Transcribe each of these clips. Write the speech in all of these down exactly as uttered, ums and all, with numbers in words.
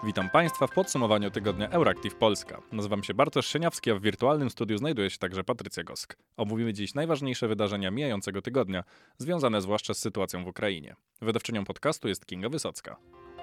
Witam Państwa w podsumowaniu tygodnia Euractiv Polska. Nazywam się Bartosz Sieniawski, a w wirtualnym studiu znajduje się także Patrycja Gosk. Omówimy dziś najważniejsze wydarzenia mijającego tygodnia, związane zwłaszcza z sytuacją w Ukrainie. Wydawczynią podcastu jest Kinga Wysocka.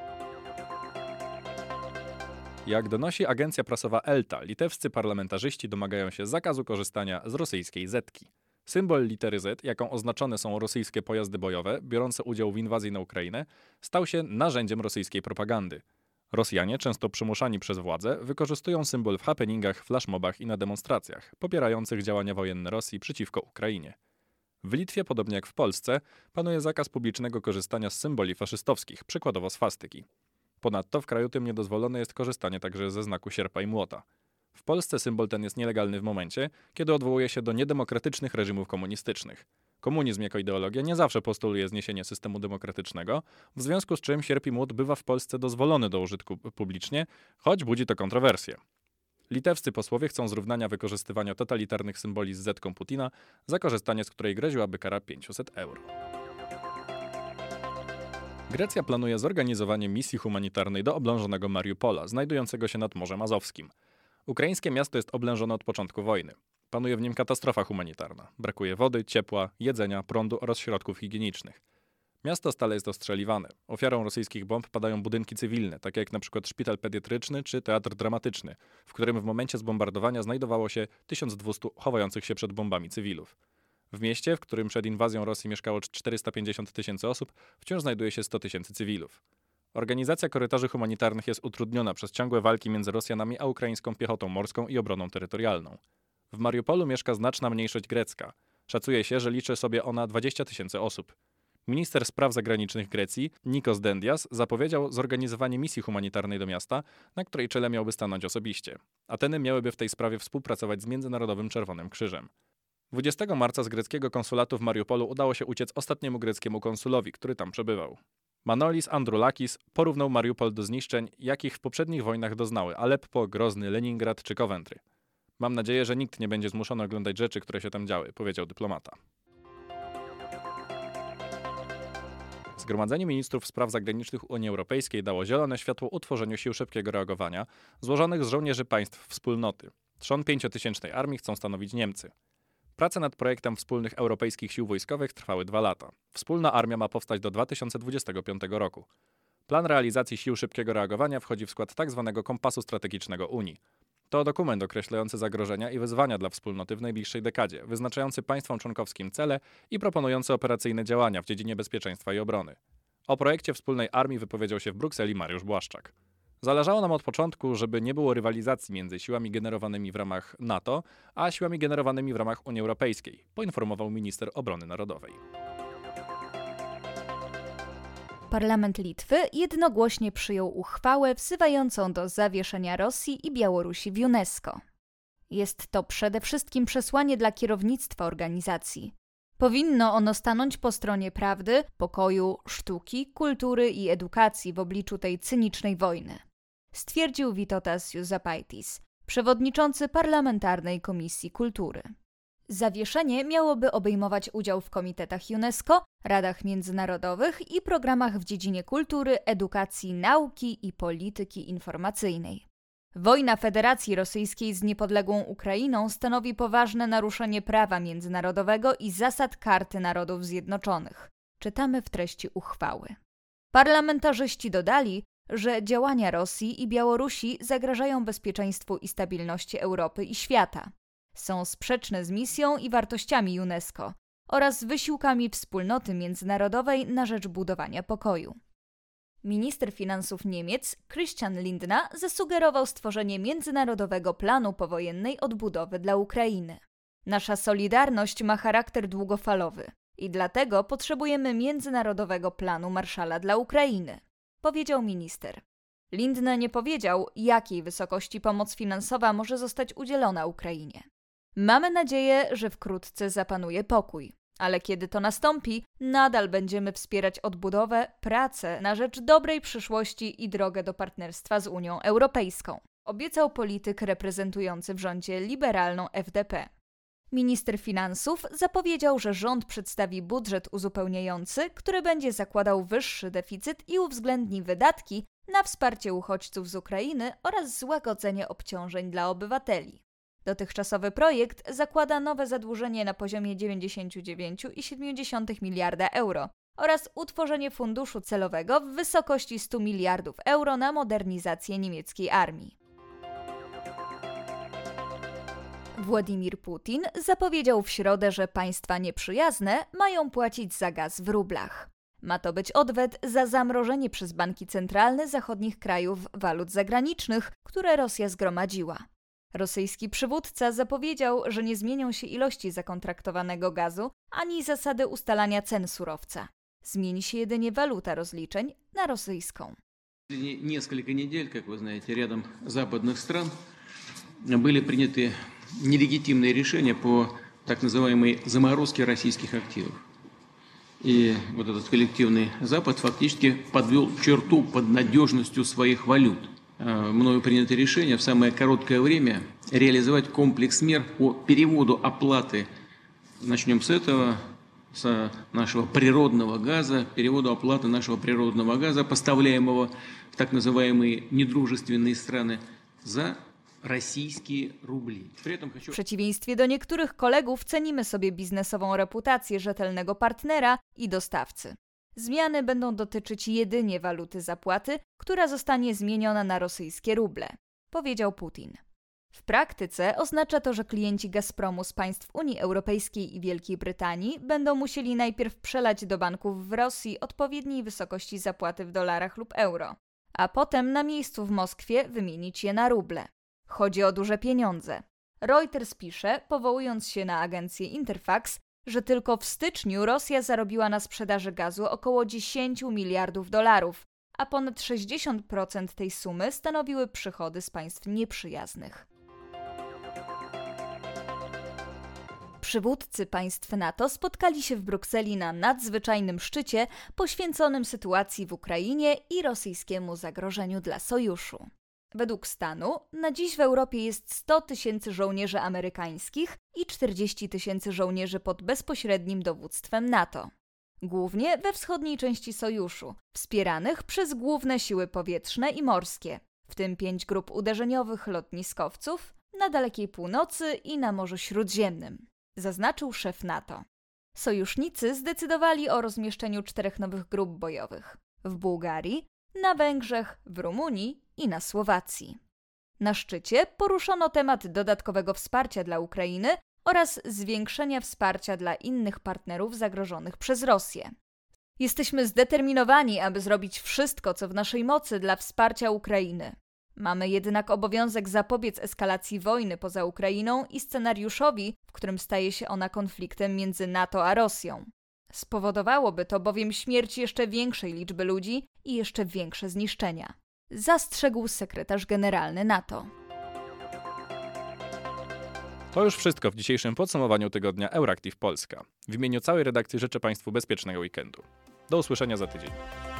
Jak donosi agencja prasowa Elta, litewscy parlamentarzyści domagają się zakazu korzystania z rosyjskiej zetki. Symbol litery Z, jaką oznaczone są rosyjskie pojazdy bojowe biorące udział w inwazji na Ukrainę, stał się narzędziem rosyjskiej propagandy. Rosjanie, często przymuszani przez władze, wykorzystują symbol w happeningach, flashmobach i na demonstracjach, popierających działania wojenne Rosji przeciwko Ukrainie. W Litwie, podobnie jak w Polsce, panuje zakaz publicznego korzystania z symboli faszystowskich, przykładowo swastyki. Ponadto w kraju tym niedozwolone jest korzystanie także ze znaku sierpa i młota. W Polsce symbol ten jest nielegalny w momencie, kiedy odwołuje się do niedemokratycznych reżimów komunistycznych. Komunizm jako ideologia nie zawsze postuluje zniesienie systemu demokratycznego, w związku z czym sierp i młot bywa w Polsce dozwolony do użytku publicznie, choć budzi to kontrowersje. Litewscy posłowie chcą zrównania wykorzystywania totalitarnych symboli z zetką Putina, za korzystanie z której groziłaby kara pięćset euro. Grecja planuje zorganizowanie misji humanitarnej do oblężonego Mariupola, znajdującego się nad Morzem Azowskim. Ukraińskie miasto jest oblężone od początku wojny. Panuje w nim katastrofa humanitarna. Brakuje wody, ciepła, jedzenia, prądu oraz środków higienicznych. Miasto stale jest ostrzeliwane. Ofiarą rosyjskich bomb padają budynki cywilne, takie jak np. szpital pediatryczny czy teatr dramatyczny, w którym w momencie zbombardowania znajdowało się tysiąc dwieście chowających się przed bombami cywilów. W mieście, w którym przed inwazją Rosji mieszkało czterysta pięćdziesiąt tysięcy osób, wciąż znajduje się sto tysięcy cywilów. Organizacja korytarzy humanitarnych jest utrudniona przez ciągłe walki między Rosjanami a ukraińską piechotą morską i obroną terytorialną. W Mariupolu mieszka znaczna mniejszość grecka. Szacuje się, że liczy sobie ona dwadzieścia tysięcy osób. Minister spraw zagranicznych Grecji, Nikos Dendias, zapowiedział zorganizowanie misji humanitarnej do miasta, na której czele miałby stanąć osobiście. Ateny miałyby w tej sprawie współpracować z Międzynarodowym Czerwonym Krzyżem. dwudziestego marca z greckiego konsulatu w Mariupolu udało się uciec ostatniemu greckiemu konsulowi, który tam przebywał. Manolis Androulakis porównał Mariupol do zniszczeń, jakich w poprzednich wojnach doznały Aleppo, Grozny, Leningrad czy Coventry. Mam nadzieję, że nikt nie będzie zmuszony oglądać rzeczy, które się tam działy, powiedział dyplomata. Zgromadzenie Ministrów Spraw Zagranicznych Unii Europejskiej dało zielone światło utworzeniu sił szybkiego reagowania, złożonych z żołnierzy państw wspólnoty. Trzon pięciotysięcznej armii chcą stanowić Niemcy. Prace nad projektem wspólnych europejskich sił wojskowych trwały dwa lata. Wspólna armia ma powstać do dwa tysiące dwudziestego piątego roku. Plan realizacji sił szybkiego reagowania wchodzi w skład tzw. kompasu strategicznego Unii. To dokument określający zagrożenia i wyzwania dla wspólnoty w najbliższej dekadzie, wyznaczający państwom członkowskim cele i proponujący operacyjne działania w dziedzinie bezpieczeństwa i obrony. O projekcie wspólnej armii wypowiedział się w Brukseli Mariusz Błaszczak. Zależało nam od początku, żeby nie było rywalizacji między siłami generowanymi w ramach NATO, a siłami generowanymi w ramach Unii Europejskiej, poinformował minister obrony narodowej. Parlament Litwy jednogłośnie przyjął uchwałę wzywającą do zawieszenia Rosji i Białorusi w UNESCO. Jest to przede wszystkim przesłanie dla kierownictwa organizacji. Powinno ono stanąć po stronie prawdy, pokoju, sztuki, kultury i edukacji w obliczu tej cynicznej wojny, stwierdził Vytautas Juozapaitis, przewodniczący Parlamentarnej Komisji Kultury. Zawieszenie miałoby obejmować udział w komitetach UNESCO, radach międzynarodowych i programach w dziedzinie kultury, edukacji, nauki i polityki informacyjnej. Wojna Federacji Rosyjskiej z niepodległą Ukrainą stanowi poważne naruszenie prawa międzynarodowego i zasad Karty Narodów Zjednoczonych, czytamy w treści uchwały. Parlamentarzyści dodali, że działania Rosji i Białorusi zagrażają bezpieczeństwu i stabilności Europy i świata. Są sprzeczne z misją i wartościami UNESCO oraz wysiłkami wspólnoty międzynarodowej na rzecz budowania pokoju. Minister finansów Niemiec Christian Lindner zasugerował stworzenie międzynarodowego planu powojennej odbudowy dla Ukrainy. Nasza solidarność ma charakter długofalowy i dlatego potrzebujemy międzynarodowego planu Marshalla dla Ukrainy, powiedział minister. Lindner nie powiedział, jakiej wysokości pomoc finansowa może zostać udzielona Ukrainie. Mamy nadzieję, że wkrótce zapanuje pokój, ale kiedy to nastąpi, nadal będziemy wspierać odbudowę, pracę na rzecz dobrej przyszłości i drogę do partnerstwa z Unią Europejską, obiecał polityk reprezentujący w rządzie liberalną F D P. Minister finansów zapowiedział, że rząd przedstawi budżet uzupełniający, który będzie zakładał wyższy deficyt i uwzględni wydatki na wsparcie uchodźców z Ukrainy oraz złagodzenie obciążeń dla obywateli. Dotychczasowy projekt zakłada nowe zadłużenie na poziomie dziewięćdziesiąt dziewięć przecinek siedem miliarda euro oraz utworzenie funduszu celowego w wysokości stu miliardów euro na modernizację niemieckiej armii. Władimir Putin zapowiedział w środę, że państwa nieprzyjazne mają płacić za gaz w rublach. Ma to być odwet za zamrożenie przez banki centralne zachodnich krajów walut zagranicznych, które Rosja zgromadziła. Rosyjski przywódca zapowiedział, że nie zmienią się ilości zakontraktowanego gazu ani zasady ustalania cen surowca. Zmieni się jedynie waluta rozliczeń na rosyjską. Несколько недель, как вы знаете, рядом западных стран были приняты нелегитимные решения по так называемой заморозке российских активов. И вот этот коллективный Запад фактически подвел черту под надежностью своих валют. Мною принято решение в самое короткое время реализовать комплекс мер по переводу оплаты. Начнем с этого, с нашего природного газа, переводу оплаты нашего природного газа, поставляемого в так называемые недружественные страны, за rosyjskie rubli. W przeciwieństwie do niektórych kolegów cenimy sobie biznesową reputację rzetelnego partnera i dostawcy. Zmiany będą dotyczyć jedynie waluty zapłaty, która zostanie zmieniona na rosyjskie ruble, powiedział Putin. W praktyce oznacza to, że klienci Gazpromu z państw Unii Europejskiej i Wielkiej Brytanii będą musieli najpierw przelać do banków w Rosji odpowiedniej wysokości zapłaty w dolarach lub euro, a potem na miejscu w Moskwie wymienić je na ruble. Chodzi o duże pieniądze. Reuters pisze, powołując się na agencję Interfax, że tylko w styczniu Rosja zarobiła na sprzedaży gazu około dziesięć miliardów dolarów, a ponad sześćdziesiąt procent tej sumy stanowiły przychody z państw nieprzyjaznych. Przywódcy państw NATO spotkali się w Brukseli na nadzwyczajnym szczycie poświęconym sytuacji w Ukrainie i rosyjskiemu zagrożeniu dla sojuszu. Według stanu na dziś w Europie jest sto tysięcy żołnierzy amerykańskich i czterdzieści tysięcy żołnierzy pod bezpośrednim dowództwem NATO. Głównie we wschodniej części sojuszu, wspieranych przez główne siły powietrzne i morskie, w tym pięć grup uderzeniowych lotniskowców na dalekiej północy i na Morzu Śródziemnym, zaznaczył szef NATO. Sojusznicy zdecydowali o rozmieszczeniu czterech nowych grup bojowych w Bułgarii, na Węgrzech, w Rumunii i na Słowacji. Na szczycie poruszono temat dodatkowego wsparcia dla Ukrainy oraz zwiększenia wsparcia dla innych partnerów zagrożonych przez Rosję. Jesteśmy zdeterminowani, aby zrobić wszystko, co w naszej mocy dla wsparcia Ukrainy. Mamy jednak obowiązek zapobiec eskalacji wojny poza Ukrainą i scenariuszowi, w którym staje się ona konfliktem między NATO a Rosją. Spowodowałoby to bowiem śmierć jeszcze większej liczby ludzi i jeszcze większe zniszczenia, zastrzegł sekretarz generalny NATO. To już wszystko w dzisiejszym podsumowaniu tygodnia Euractiv Polska. W imieniu całej redakcji życzę Państwu bezpiecznego weekendu. Do usłyszenia za tydzień.